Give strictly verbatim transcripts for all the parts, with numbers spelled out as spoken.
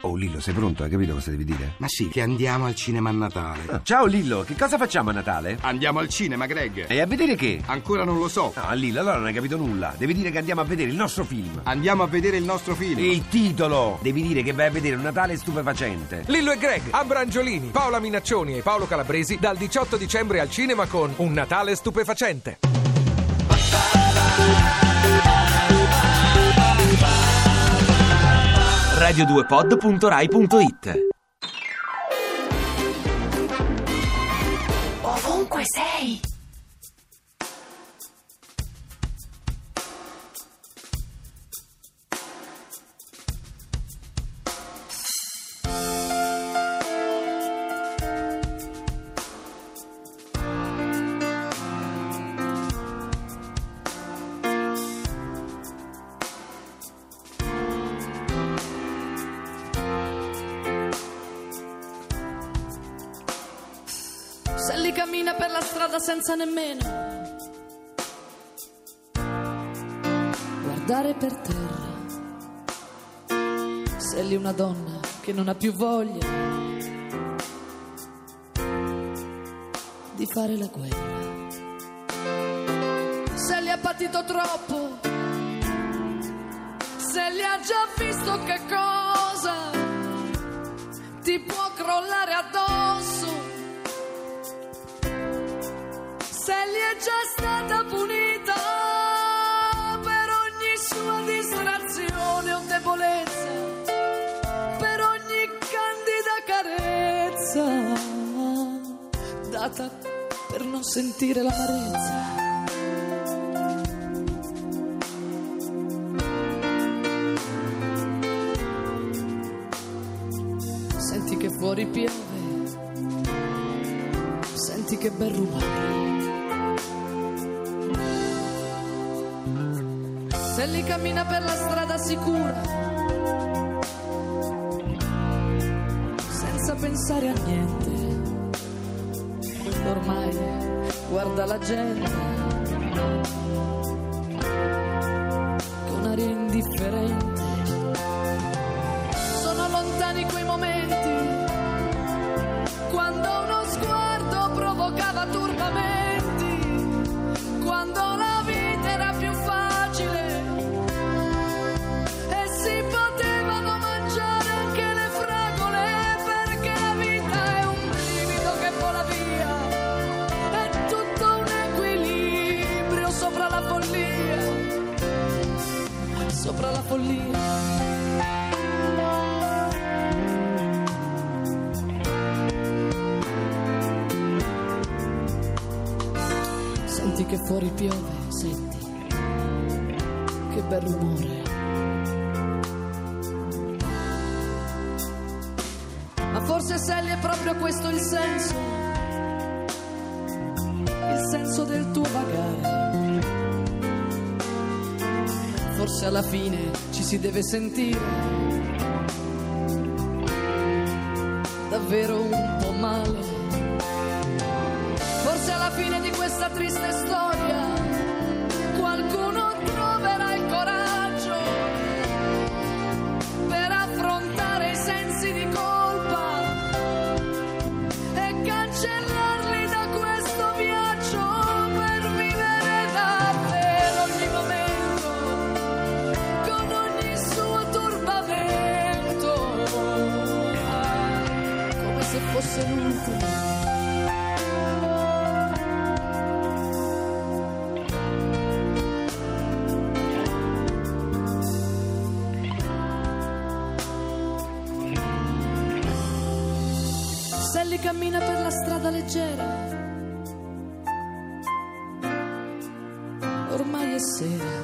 Oh Lillo, sei pronto? Hai capito cosa devi dire? Ma sì, che andiamo al cinema a Natale. Ah, ciao Lillo, che cosa facciamo a Natale? Andiamo al cinema, Greg. E a vedere che? Ancora non lo so. No, Lillo, allora non hai capito nulla. Devi dire che andiamo a vedere il nostro film. Andiamo a vedere il nostro film. Il titolo! Devi dire che vai a vedere un Natale stupefacente. Lillo e Greg, Ambra Angiolini, Paola Minaccioni e Paolo Calabresi dal diciotto dicembre al cinema con Un Natale stupefacente. radio due pod punto rai punto it. Ovunque sei. Sally cammina per la strada senza nemmeno guardare per terra. Sally una donna che non ha più voglia di fare la guerra. Sally ha patito troppo, Sally ha già visto che cosa ti può crollare addosso. Sally è già stata punita per ogni sua distrazione o debolezza, per ogni candida carezza data per non sentire l'amarezza. Senti che fuori piove, senti che bel rumore. Sally cammina per la strada sicura, senza pensare a niente. Ormai guarda la gente con aria indifferente. Sono lontani quei momenti quando uno sguardo provocava turbamenti, quando la vita era più facile e si potevano mangiare anche le fragole, perché la vita è un brivido che vola via, è tutto un equilibrio sopra la follia, sopra la follia. Senti che fuori piove, senti che bel rumore. Ma forse Sally è proprio questo il senso, il senso del tuo vagare. Forse alla fine ci si deve sentire davvero un po' male. Forse alla fine di questa triste storia qualcuno troverà il coraggio per affrontare i sensi di colpa e cancellarli da questo viaggio, per vivere davvero ogni momento con ogni suo turbamento, come se fosse l'ultimo. Sally cammina per la strada leggera, ormai è sera,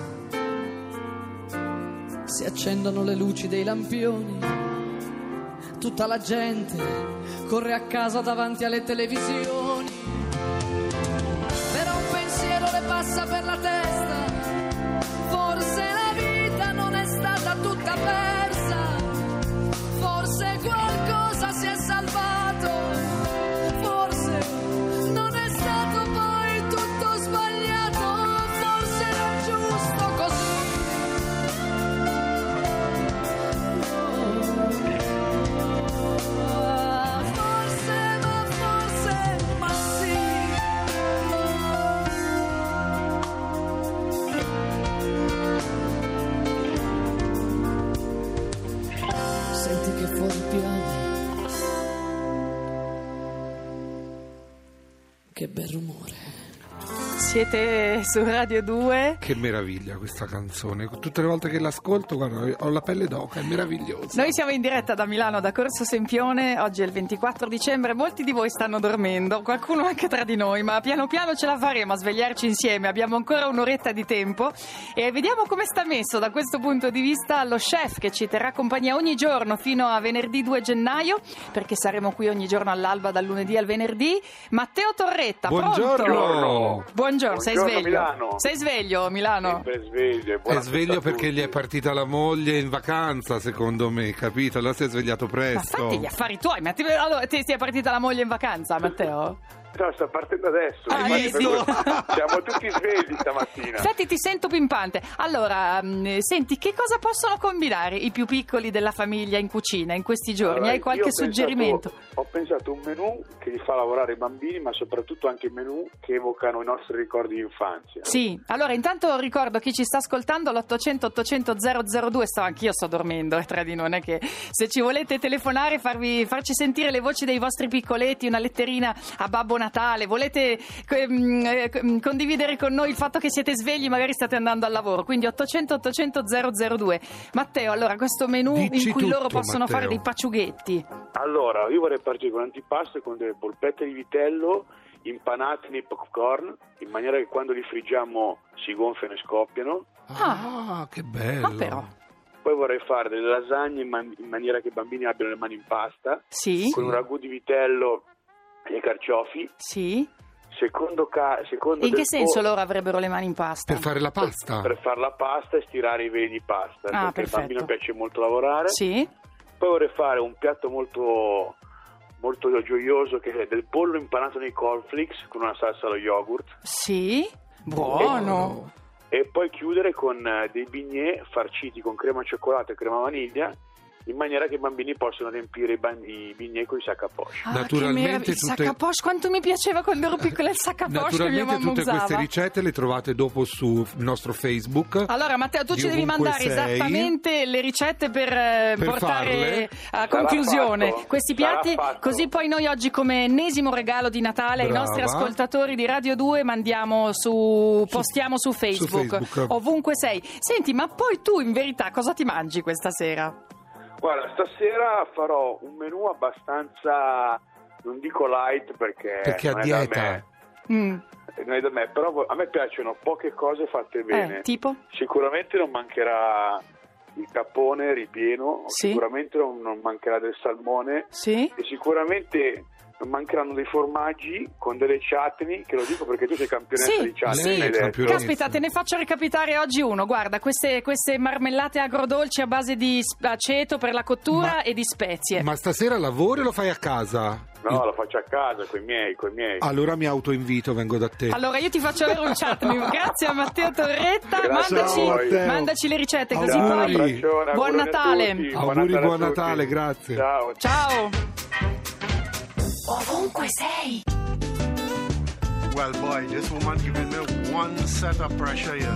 si accendono le luci dei lampioni, tutta la gente corre a casa davanti alle televisioni, però un pensiero le passa per la testa, forse la vita non è stata tutta persa, forse qualcosa si è salvato. Forse non è stato poi tutto sbagliato, forse era giusto così. Oh. senti che fuori piove. Che bel rumore. Siete su Radio due. Che meraviglia questa canzone. Tutte le volte che l'ascolto, guarda, ho la pelle d'oca, è meravigliosa. Noi siamo in diretta da Milano, da Corso Sempione. Oggi è il ventiquattro dicembre. Molti di voi stanno dormendo, qualcuno anche tra di noi, ma piano piano ce la faremo a svegliarci insieme. Abbiamo ancora un'oretta di tempo e vediamo come sta messo da questo punto di vista lo chef, che ci terrà compagnia ogni giorno fino a venerdì due gennaio, perché saremo qui ogni giorno all'alba dal lunedì al venerdì. Matteo Torretta, buongiorno. Pronto? Buongiorno. Sei Buongiorno, sveglio? Milano. Sei sveglio, Milano? Sempre sveglio. È sveglio perché gli è partita la moglie in vacanza, secondo me, capito? Allora si è svegliato Ma presto. fatti gli affari tuoi. Ma ti, allora, ti, ti è partita la moglie in vacanza, Matteo? No, sta partendo adesso. Ah, infatti, sì. per questo siamo tutti svegli stamattina. Senti, ti sento pimpante. Allora, mh, senti, che cosa possono combinare i più piccoli della famiglia in cucina in questi giorni? Allora, Hai qualche io ho pensato- suggerimento? Ho pensato un menù che li fa lavorare i bambini, ma soprattutto anche menù che evocano i nostri ricordi di infanzia. Sì, allora intanto ricordo chi ci sta ascoltando l'ottocento ottocento zero zero due, sto anch'io sto dormendo, eh, tra di noi, non è che se ci volete telefonare, farvi, farci sentire le voci dei vostri piccoletti, una letterina a Babbo Natale, volete ehm, eh, condividere con noi il fatto che siete svegli, magari state andando al lavoro, quindi ottocento ottocento zero zero due. Matteo, allora questo menù Dici in cui tutto, loro possono Matteo. fare dei paciughetti. Allora, io vorrei partire con l'antipasto con delle polpette di vitello impanate nei popcorn, in maniera che quando li friggiamo si gonfiano e scoppiano. Ah, che bello. Ah, però. Poi vorrei fare delle lasagne in, man- in maniera che i bambini abbiano le mani in pasta, Sì, con un ragù di vitello e carciofi. sì. Secondo, ca- secondo E in che del senso po- loro avrebbero le mani in pasta? Per fare la pasta. Per fare la pasta e stirare i veli di pasta, Ah, perché perfetto. al bambino piace molto lavorare. Sì, Poi vorrei fare un piatto molto molto gioioso che è del pollo impanato nei cornflakes con una salsa allo yogurt, sì, buono. e poi chiudere con eh, dei bignè farciti con crema cioccolato e crema vaniglia, in maniera che i bambini possano riempire i, ban- i bignè con i sac à poche. Ah, Naturalmente che meraviglia. Il tutte- sac à poche, quanto mi piaceva quando ero piccola il sac à poche che mia Naturalmente mamma tutte usava. queste ricette le trovate dopo sul nostro Facebook. Allora Matteo, tu di ci devi ovunque mandare sei. esattamente le ricette per, eh, Per portare farle. a Sarà conclusione fatto. questi Sarà piatti, fatto. così poi noi oggi come ennesimo regalo di Natale ai Brava. nostri ascoltatori di Radio due mandiamo su, postiamo su Facebook, Facebook. ovunque sei. Senti, ma poi tu in verità cosa ti mangi questa sera? Guarda, stasera farò un menù abbastanza, non dico light perché, Perché a non è da dieta. me, Mm. non è da me, però a me piacciono poche cose fatte bene. Eh, tipo? Sicuramente non mancherà il capone ripieno, Sì. sicuramente non, non mancherà del salmone, Sì? e sicuramente non mancheranno dei formaggi con delle chutney, che lo dico perché tu sei campionessa Sì, di chutney. sì. l'hai detto. Campionessa. Caspita, te ne faccio recapitare oggi uno. Guarda, queste, queste marmellate agrodolci a base di sp- aceto per la cottura Ma- e di spezie. Ma stasera lavori o lo fai a casa? No, lo faccio a casa, coi miei, coi miei. Allora mi autoinvito, vengo da te. Allora io ti faccio avere un chutney. Grazie a Matteo Torretta. Grazie mandaci, a voi. mandaci le ricette così Auguri. poi. Abbraccione, Buon auguri a Natale. tutti, Auguri, a buon tutti. Natale, grazie. Ciao. Ciao. Ovunque sei. Well, boy, this woman giving me one set of pressure here.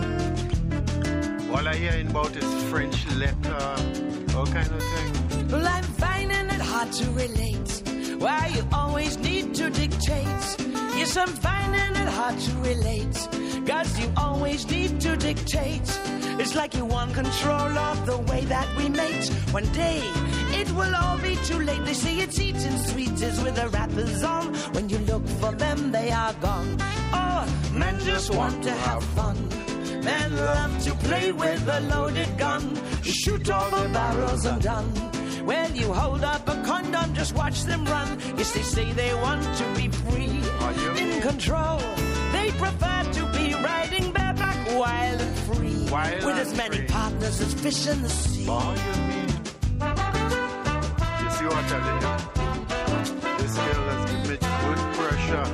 All I hearing about is French letter, all kind of thing. Well, I'm finding it hard to relate. Why you always need to dictate. Yes, I'm finding it hard to relate. Cause you always need to dictate. It's like you want control of the way that we mate. One day, it will all be too late. They say it's eating sweeties with the wrappers on. When you look for them, they are gone. Oh, men just want to have fun. Men love to play with a loaded gun. Shoot all the barrels and done. Well, you hold up a condom, just watch them run. Yes, they say they want to be free, in control. They prefer to be riding bareback, wild and free, Wild with and as many free. partners as fish in the sea. Boy, you mean? You see what I'm telling you? This girl has given me good pressure.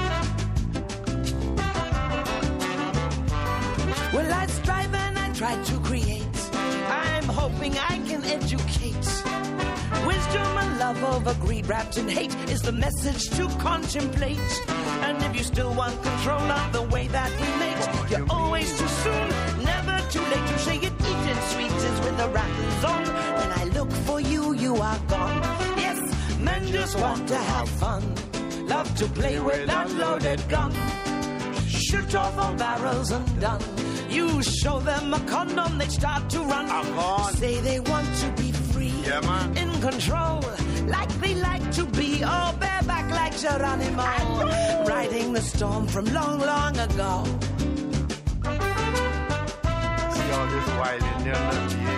Well, I strive and I try to create. I'm hoping I can educate. Wisdom and love over greed wrapped in hate is the message to contemplate. And if you still want control of the way that we mate, you're always too soon, never too late. You say it eating sweets is with the wrappers on. When I look for you, you are gone. Yes, men just want to have fun, love to play with that loaded gun. Shoot off all barrels and done. You show them a condom, they start to run. Say they want to be free, yeah, man. In control, like they like to be. Oh, bareback like Geronimo, riding the storm from long, long ago. See all this wild Indian love you.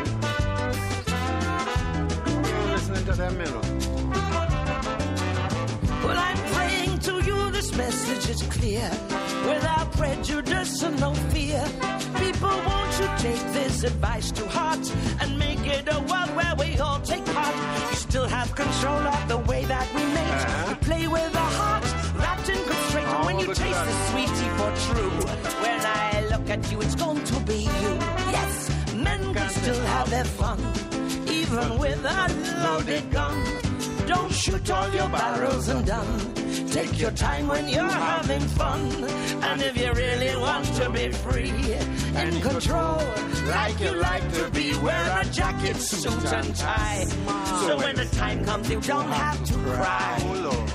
You're listening to them, you know. Well, I'm praying to you, this message is clear. Without prejudice and no fear. People, won't you take this advice to heart and make it a world where we all take part. You still have control of the way that we mate. Uh-huh. You play with our hearts, wrapped in constraint. And when you taste the sweetie for true, when I look at you, it's going to be you. Yes, men can still have their fun, even with a loaded gun. Don't shoot all your barrels and done. Take your time when you're having fun. And if you really want to be free, in control, like you like to be, wear a jacket, suit and tie. So when the time comes, you don't have to cry. Oh, Lord.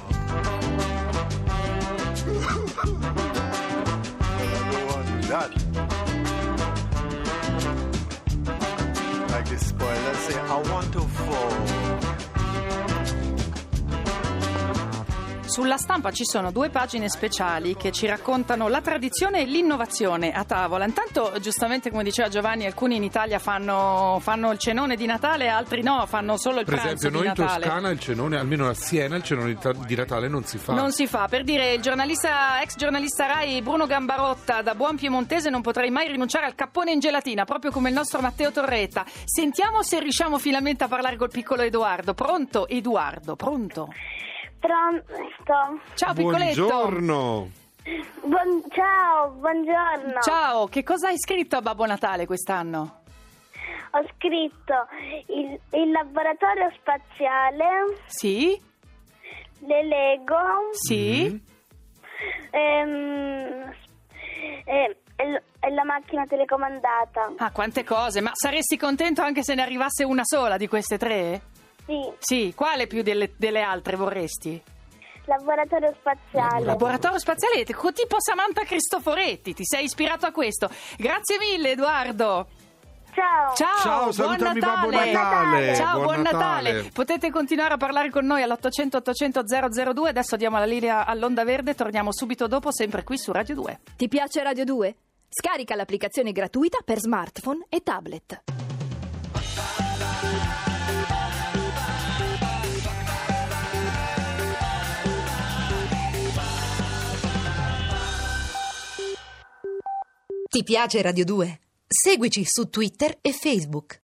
I don't want to do that. Like this spoil, let's say, I want to fall. Sulla Stampa ci sono due pagine speciali che ci raccontano la tradizione e l'innovazione a tavola. Intanto, giustamente come diceva Giovanni, alcuni in Italia fanno, fanno il cenone di Natale, altri no, fanno solo il per pranzo esempio, di noi Natale. in Toscana il cenone, almeno a Siena, il cenone di Natale non si fa. Non si fa, per dire, il giornalista, ex giornalista Rai Bruno Gambarotta, da buon piemontese non potrei mai rinunciare al cappone in gelatina, proprio come il nostro Matteo Torretta. Sentiamo se riusciamo finalmente a parlare col piccolo Edoardo. Pronto, Edoardo? Pronto? Pronto. Ciao piccoletto. Buongiorno. Buon, ciao, buongiorno. Ciao, che cosa hai scritto a Babbo Natale quest'anno? Ho scritto il, il laboratorio spaziale. Sì. Le Lego. Sì. Ehm, e, e, e la macchina telecomandata. Ah, quante cose. Ma saresti contento anche se ne arrivasse una sola di queste tre? Sì. Sì, quale più delle, delle altre vorresti? Laboratorio spaziale. Laboratorio spaziale, tipo Samantha Cristoforetti, ti sei ispirato a questo. Grazie mille Edoardo. Ciao. Ciao, Ciao, buon salutami Natale. Babbo Natale. Ciao, buon, buon Natale. Natale. Potete continuare a parlare con noi all'ottocento ottocento zero zero due. Adesso diamo la linea all'Onda Verde, torniamo subito dopo, sempre qui su Radio due. Ti piace Radio due? Scarica l'applicazione gratuita per smartphone e tablet. Ti piace Radio due? Seguici su Twitter e Facebook.